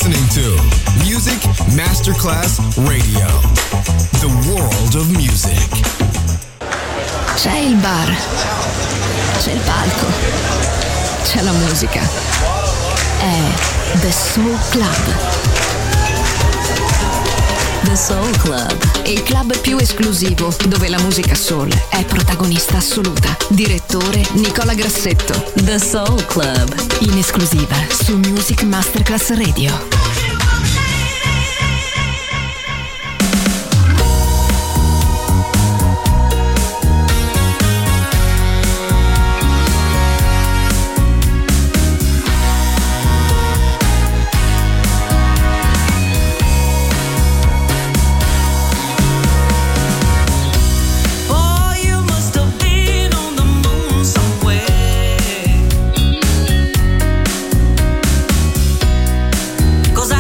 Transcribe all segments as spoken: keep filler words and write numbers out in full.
listening to Music Masterclass Radio, the world of music. C'è il bar, c'è il palco, c'è la musica. È The Soul Club. The Soul Club, il club più esclusivo dove la musica soul è protagonista assoluta. Direttore Nicola Grassetto. The Soul Club, in esclusiva su Music Masterclass Radio. Cause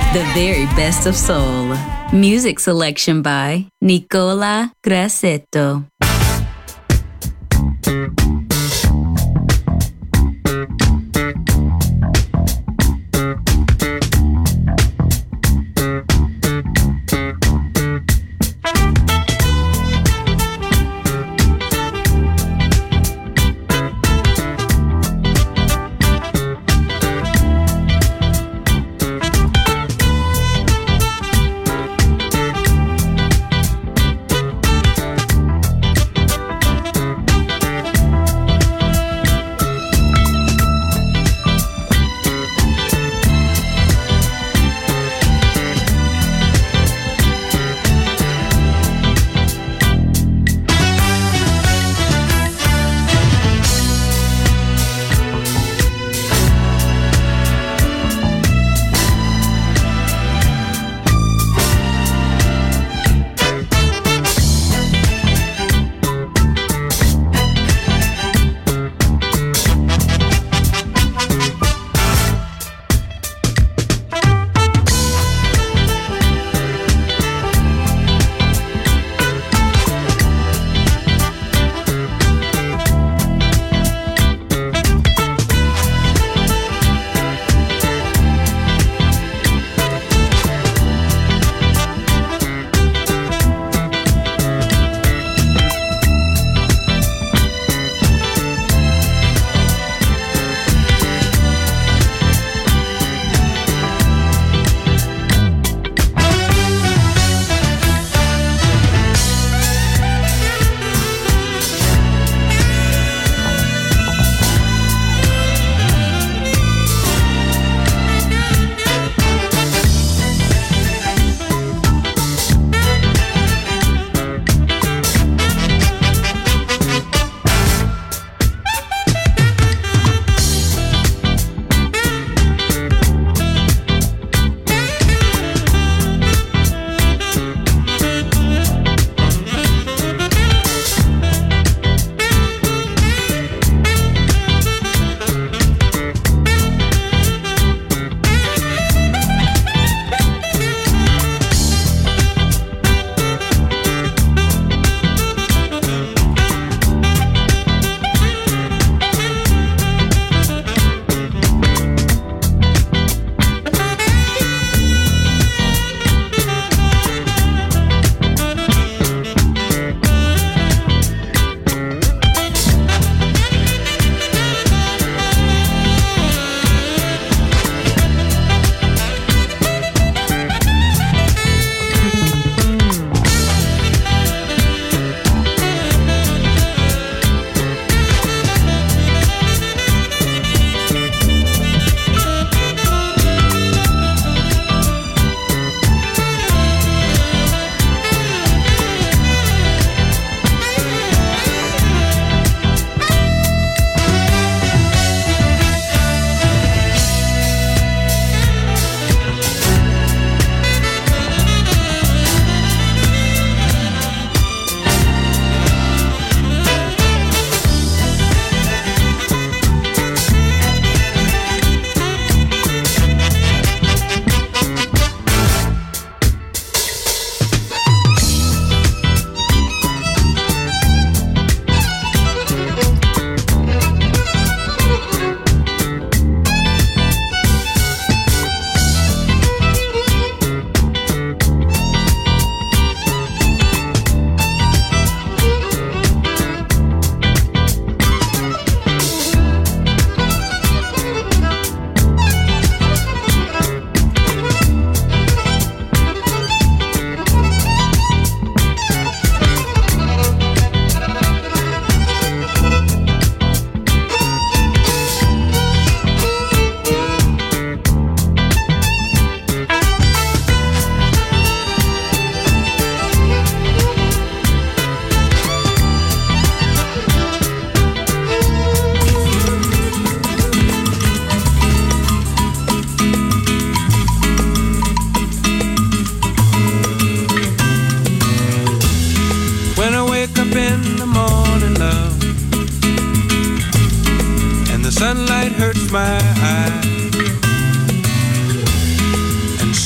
The very best of soul. Music selection by Nicola Grassetto.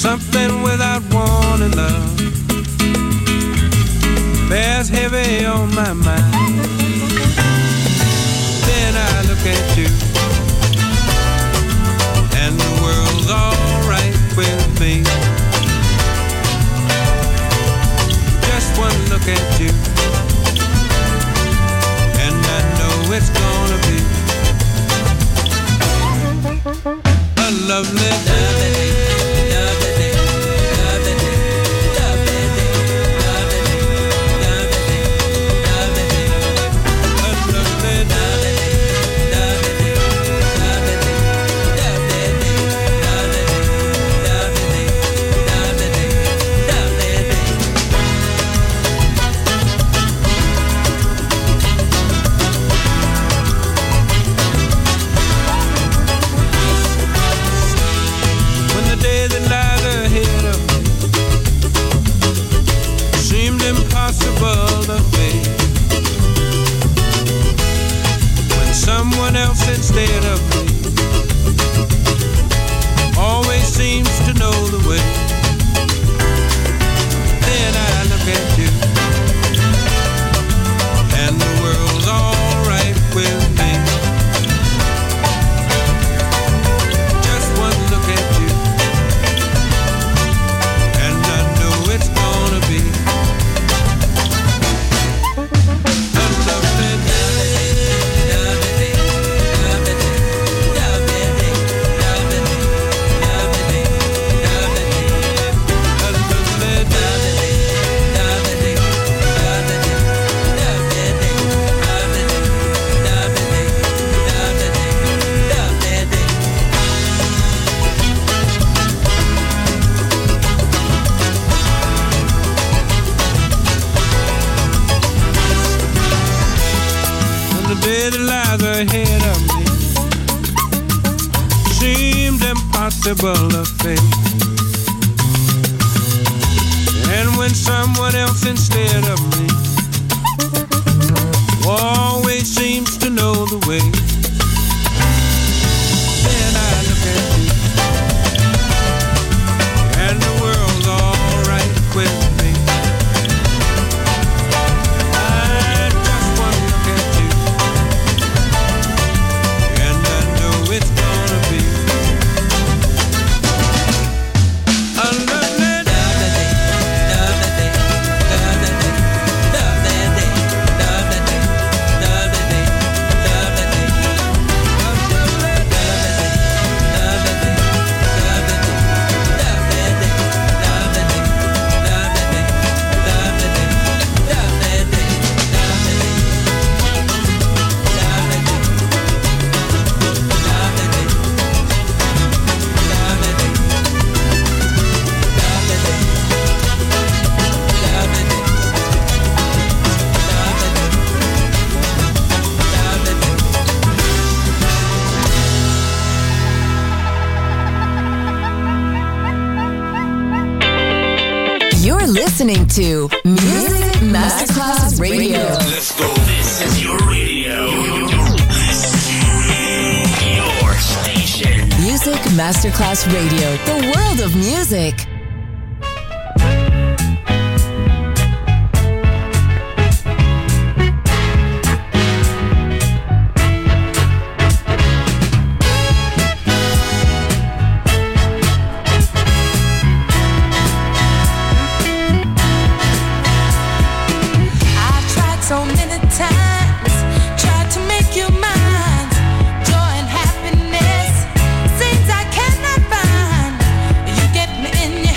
something without wanting love bears heavy on my mind. Then I look at you, and the world's alright with me. Just one look at you, and I know it's gonna be a lovely day. Someone else instead of me always seems to know the way. Then I look at you, and the world's alright with me. Just one look at you, and I know it's gonna be a lovely day. Day that lies ahead of me seemed impossible to face. And when someone else instead of me always seems to know the way, then I look at you, and the world's alright with me. Listening to Music Masterclass Radio. Let's go. This is your radio. Your station. Music Masterclass Radio. The world of music. In your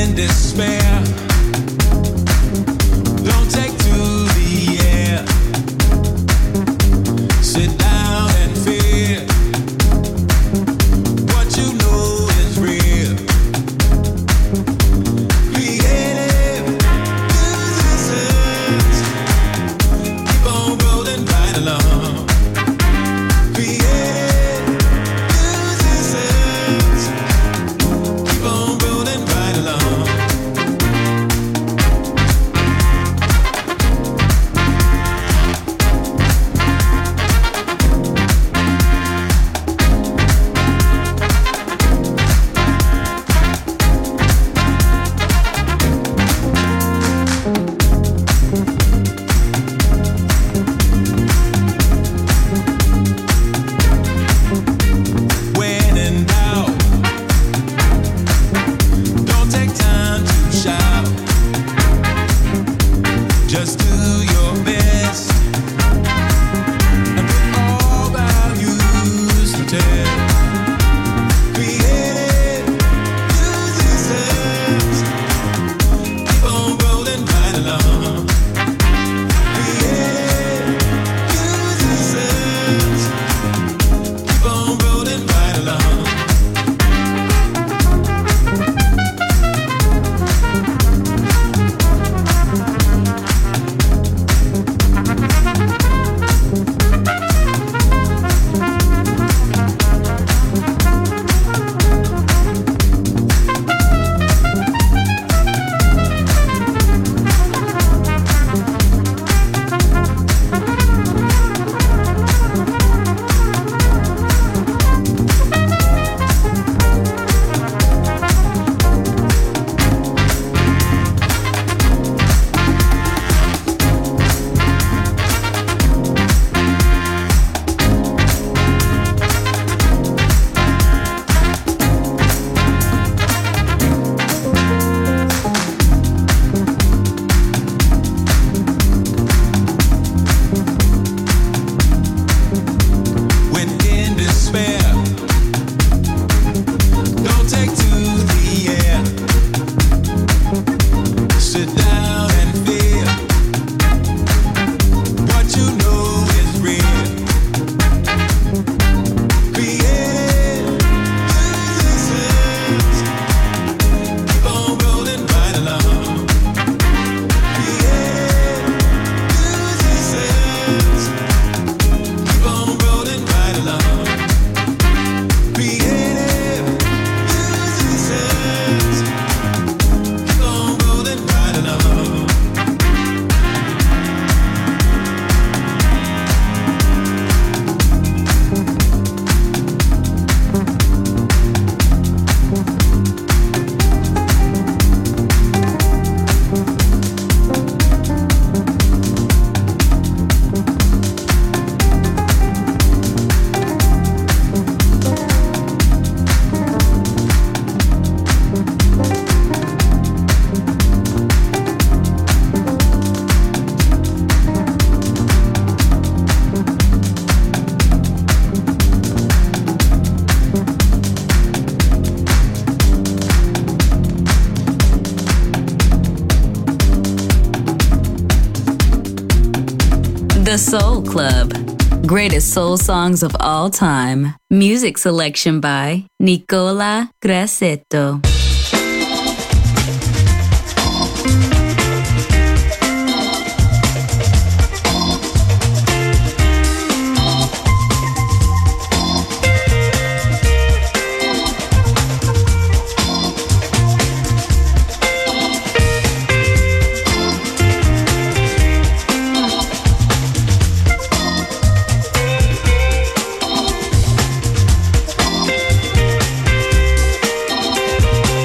in despair, don't take to the air. Sit down and fear what you know is real. Creative musicians keep on rolling right along. Creative musicians keep on rolling right along. When in doubt, don't take time to shout. Just do your best and put all values to test. Creative musicians keep on rolling right along. Creative musicians keep on rolling right along. When in despair, don't take to the air. Sit down and feel what you know is real. Creative musicians keep on rolling right along. Creative musicians keep on rolling right along. Creative musicians keep on rolling right along. The Soul Club. Greatest soul songs of all time. Music selection by Nicola Grassetto. Creative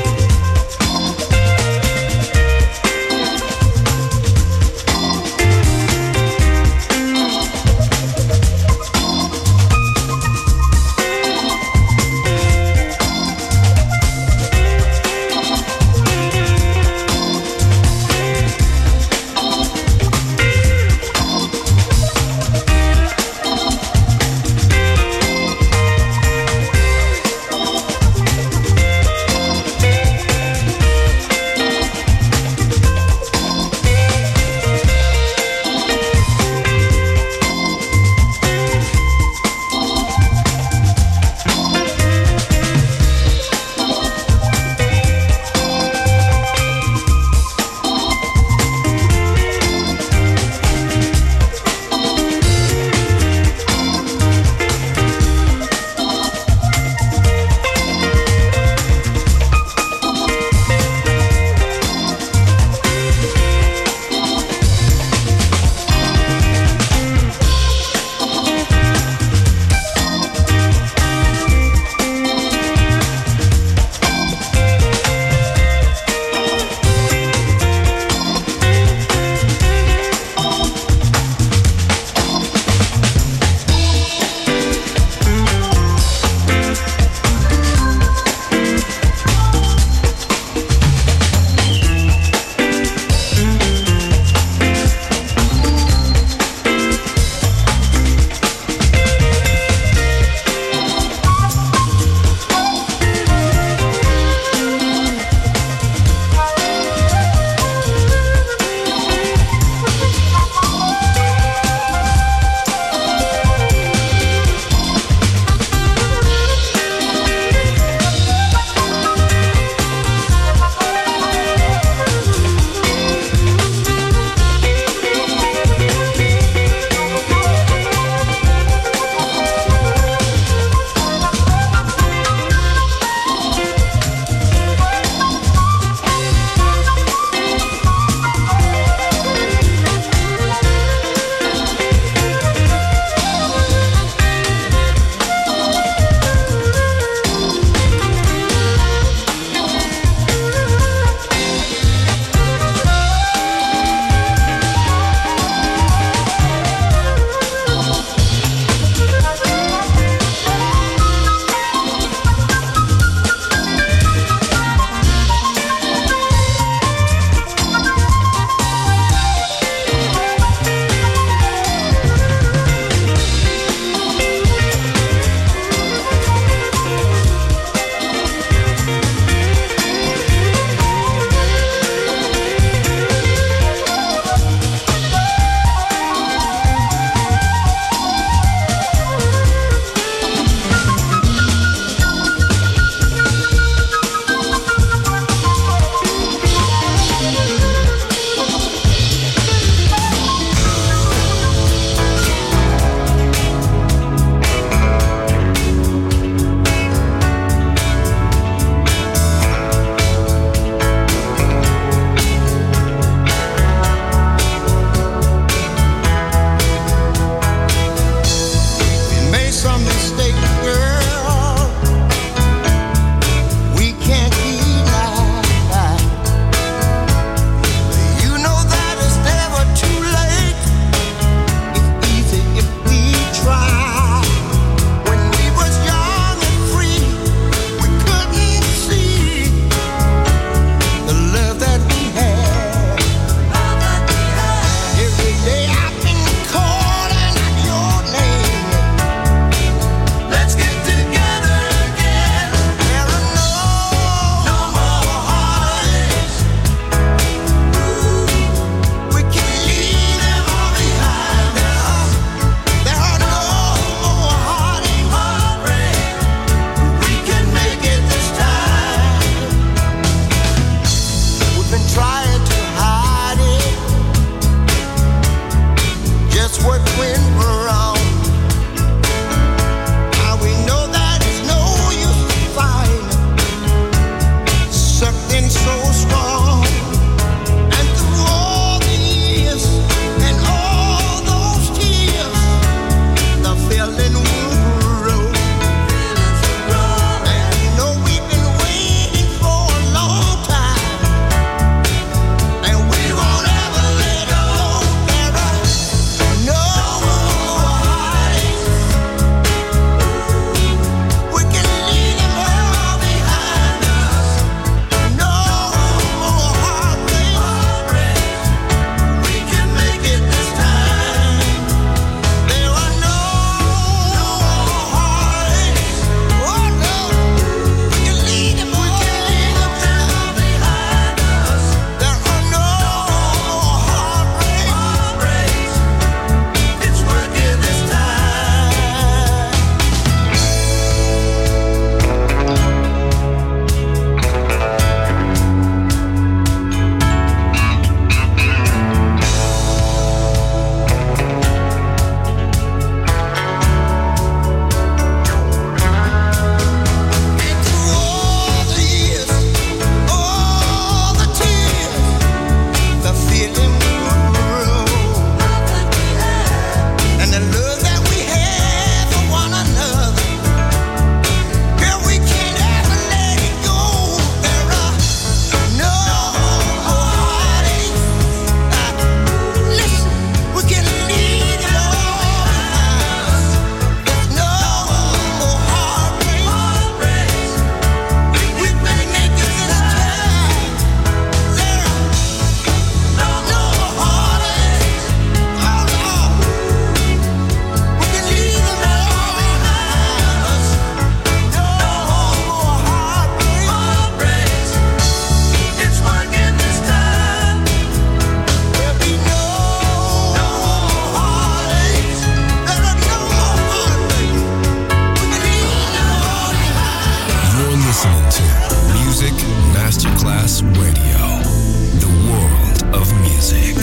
Masterclass Radio, the world of music.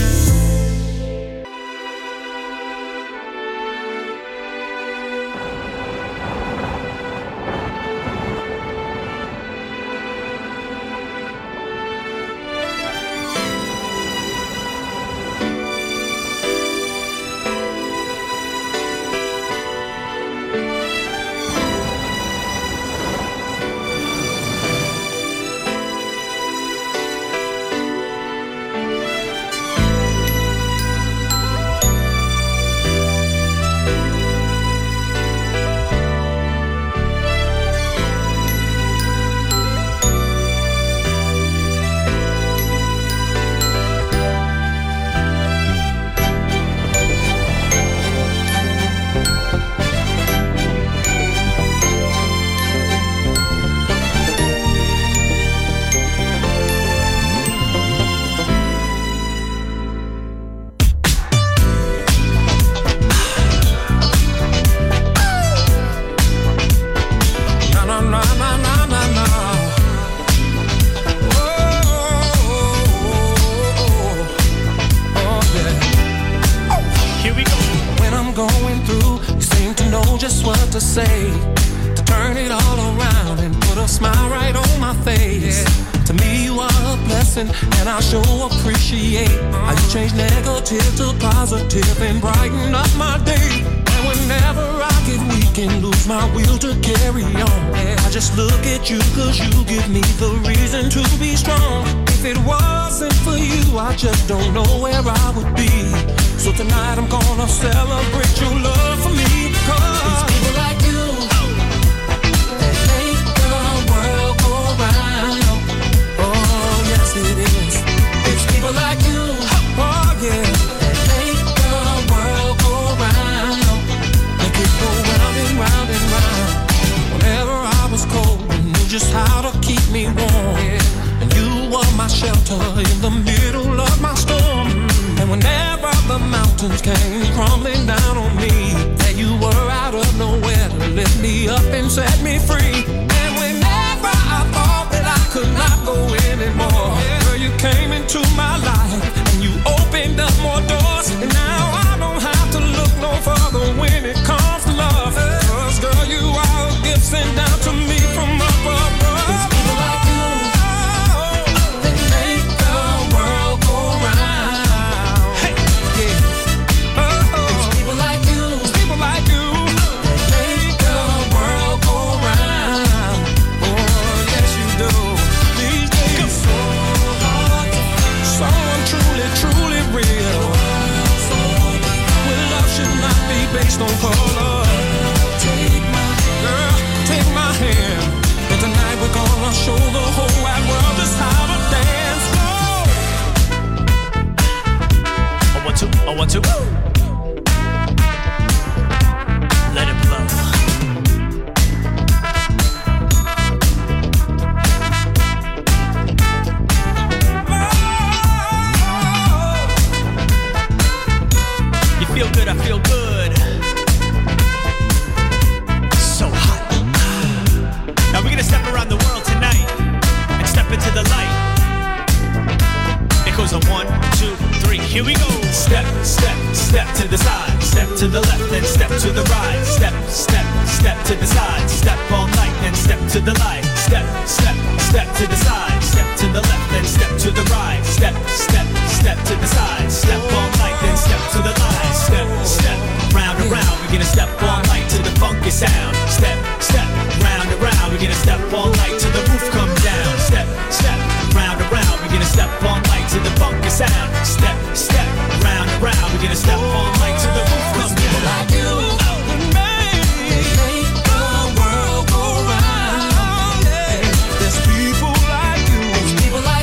People like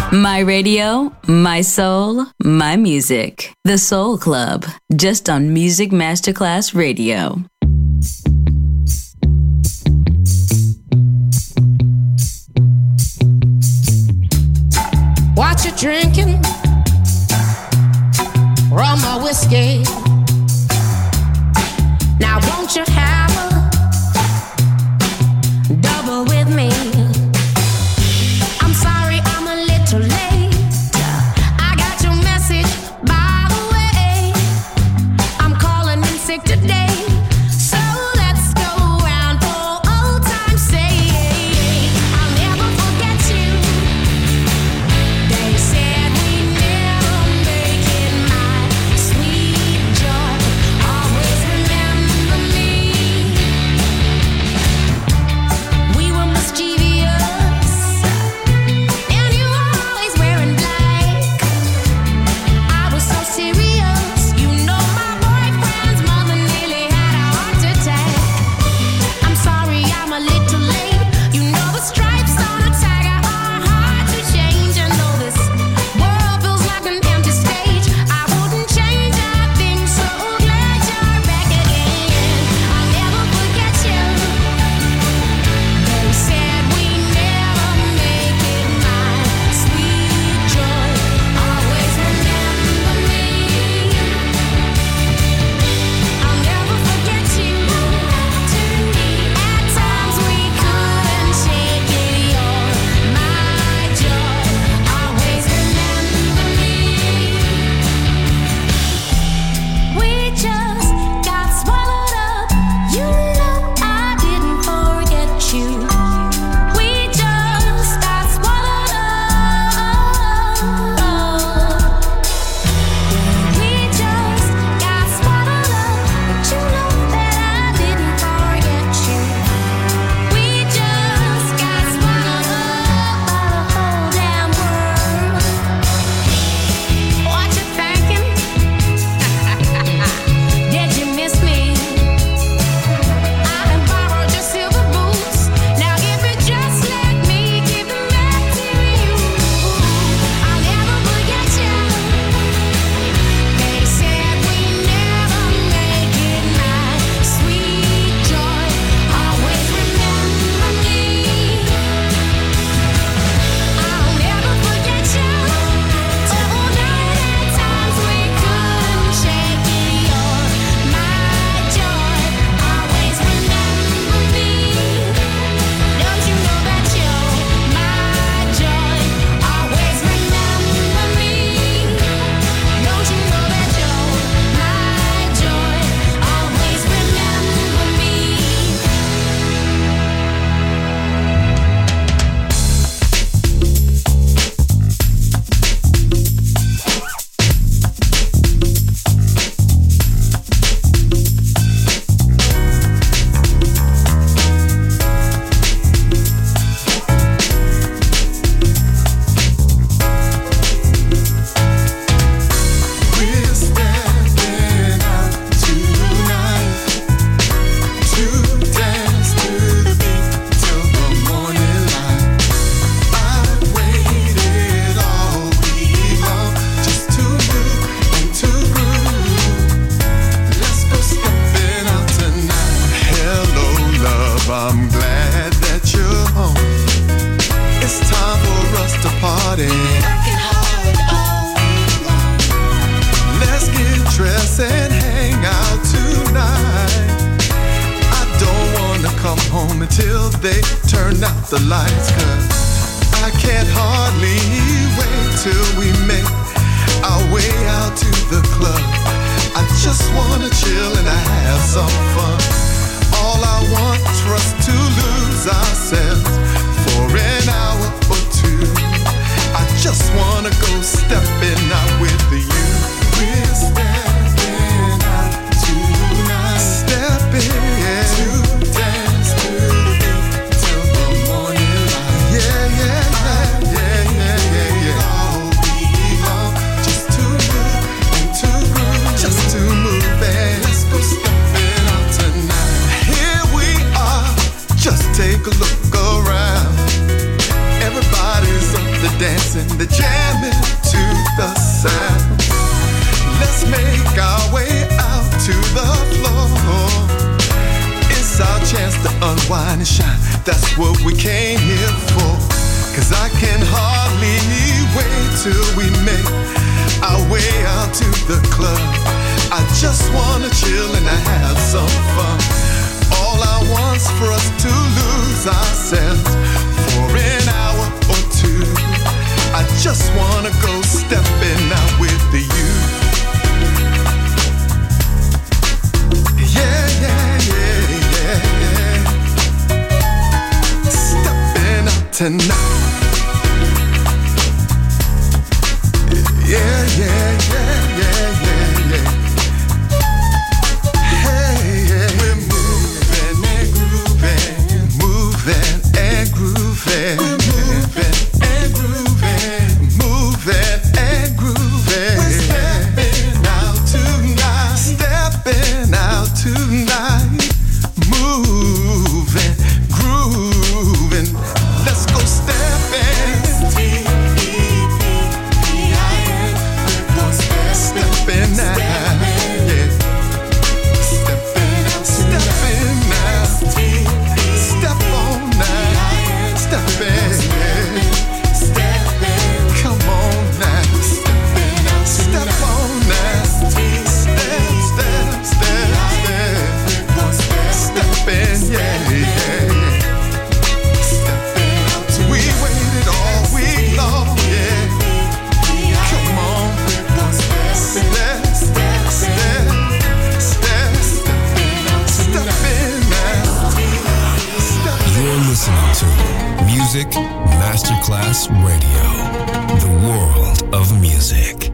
My radio, my soul, my music. The Soul Club, just on Music Masterclass Radio. What you drinking? Rum or whiskey? Now won't you have a double with me? I'm sorry I'm a little late. I got your message, by the way. I'm calling in sick today. So let's go round for old time's sake. I'll never forget you. They said we never make it, my sweet joy. Always remember me. We were mischievous, and you were always wearing black. I was so serious, you know my boyfriend's mother nearly had a heart attack. I'm sorry I'm a little late. You know the stripes on a tiger are hard to change. I know this world feels like an empty stage. I wouldn't change a thing, so glad you're back again. I'll never forget you. They said we never make it, my sweet joy. Always remember me. I'll never forget you. At times we couldn't shake it, you're my joy. Always remember me. We just got swallowed up. You know I didn't forget you. We just got swallowed up. We just got swallowed up. But you know that I didn't forget you. We just got swallowed up by the whole damn world. What you thinking? Did you miss me? I done borrowed your silver boots. Now if you just let me give them back to you, I'll never forget you. They said we never make it, my sweet joy. Always remember me. I'll never forget you. Oh, night at times we couldn't shake it, you're my joy. Always remember me. Don't you know that you're my joy? Always remember me. Don't you know that you're my joy? Always remember me. We're stepping out tonight to dance to the beat till the morning light. I've waited all week long just to move and to groove. Let's go stepping out tonight. Hello, love, I'm glad that you're home. It's time for us to party. Let's get dressed and hang out tonight. I don't wanna come home until they turn out the lights, 'cause I can't hardly wait till we make our way out to the club. I just wanna chill and have some fun. All I want is for us to lose ourselves for an hour or two. I just wanna go stepping out with you. We're stepping out tonight. Stepping to dance to the beat till the morning light. Yeah, yeah, yeah, yeah, yeah, yeah, yeah. All week long, just to move and to groove, just to move and let's go stepping out the club. I just wanna chill and have some fun. All I want's for us to lose ourselves for an hour or two. I just wanna go stepping out with you. Yeah, yeah, yeah, yeah, yeah. Stepping out tonight. Yeah, yeah, yeah, yeah, yeah, yeah. Hey, yeah. We're moving and grooving, moving and grooving, moving and grooving, moving and grooving. We're stepping out tonight, stepping out tonight, moving, grooving. Let's go stepping. Stepping out, yeah. Stepping out, stepping out. Step on now, stepping, yeah. Come on now, step on now. Step, step, step, step. Stepping, yeah, yeah. We waited all week long, yeah. Come on. Step, step, step, step, stepping out. You're listening to Music Masterclass Radio, the world of music.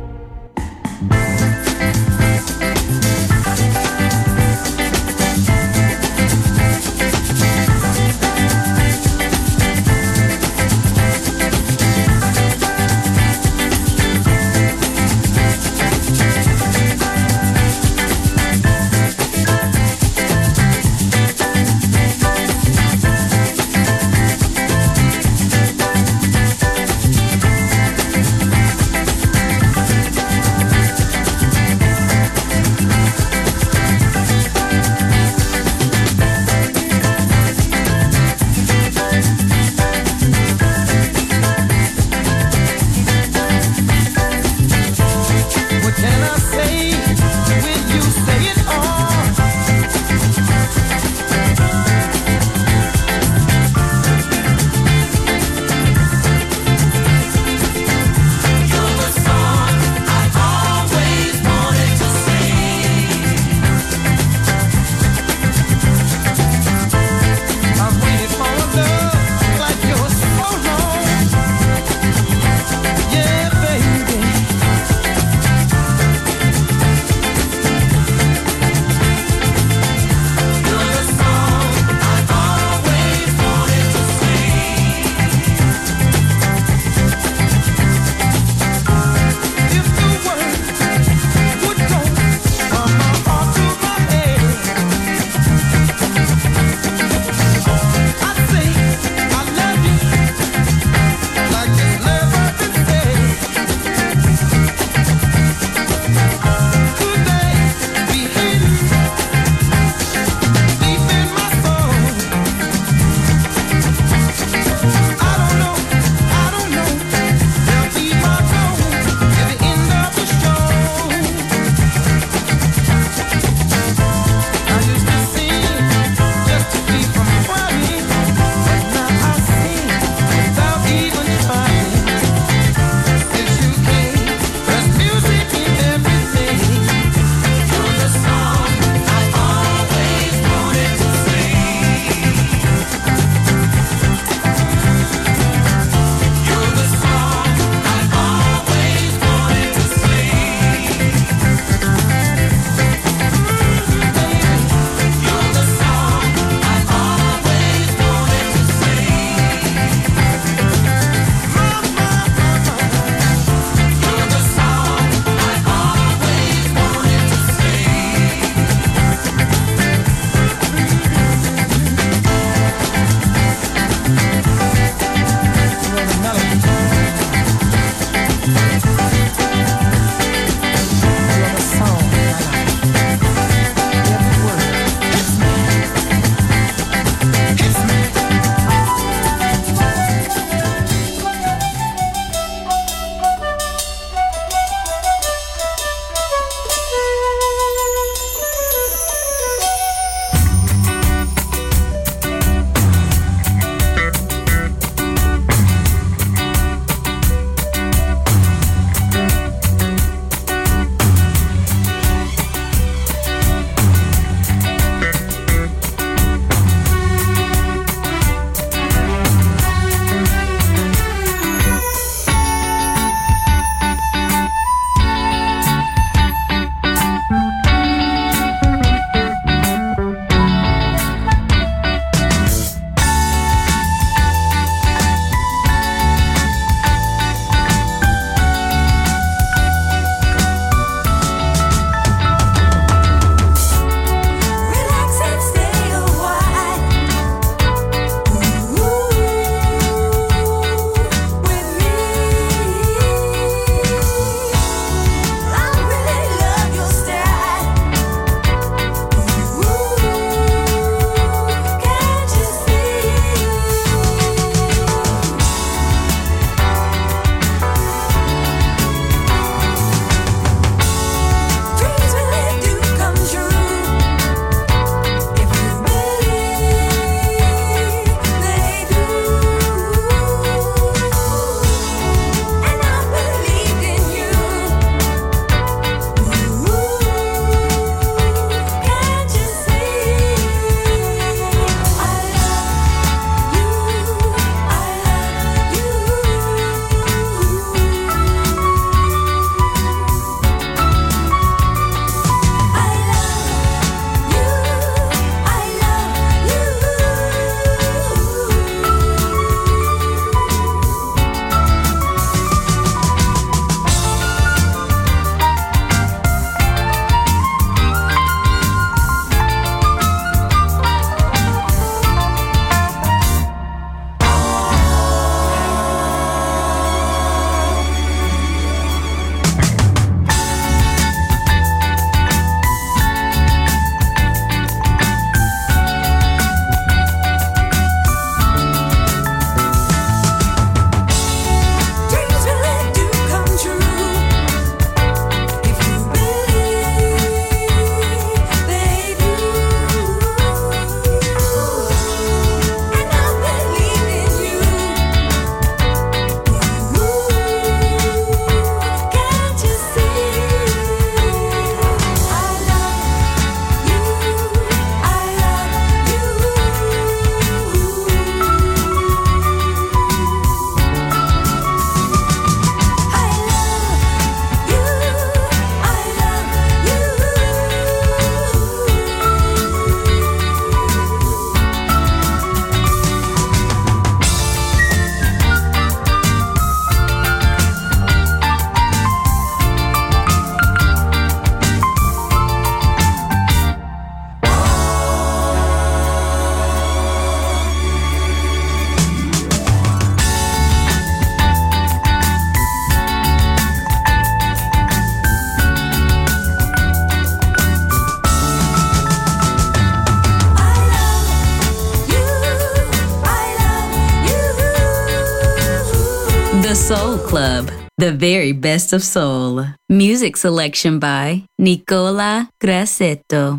The Soul Club, the very best of soul. Music selection by Nicola Grassetto.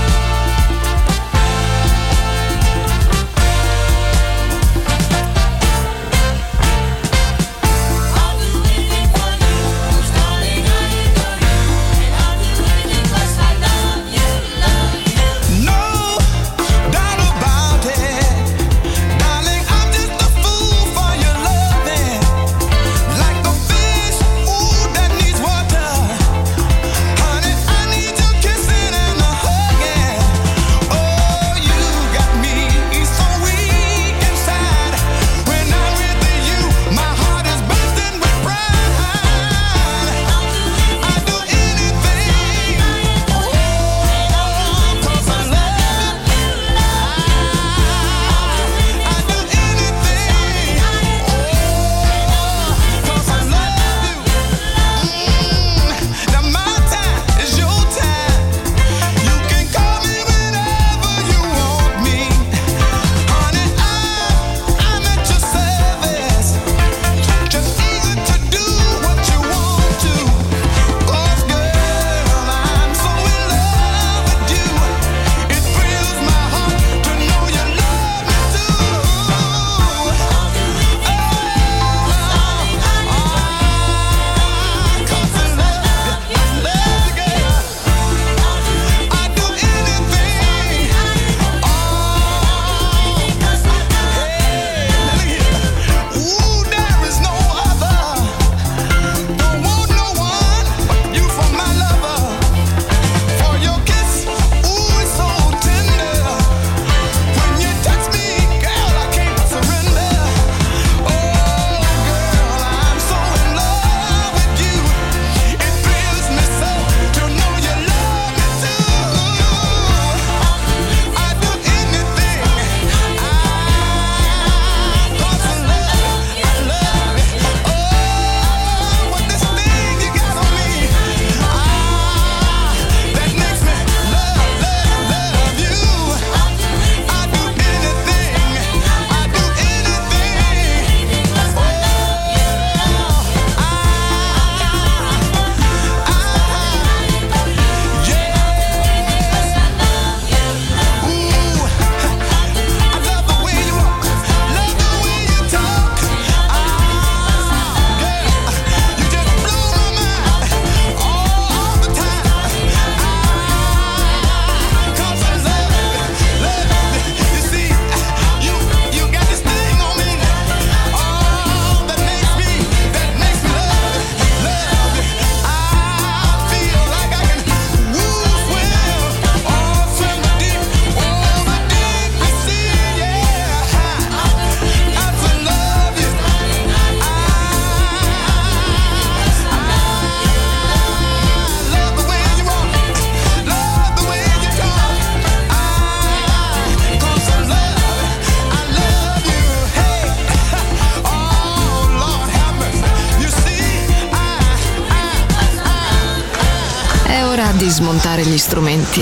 Di smontare gli strumenti,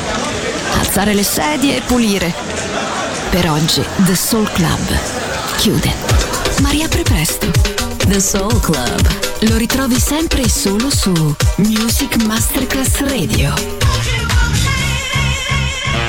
alzare le sedie e pulire. Per oggi The Soul Club chiude, ma riapre presto. The Soul Club lo ritrovi sempre e solo su Music Masterclass Radio.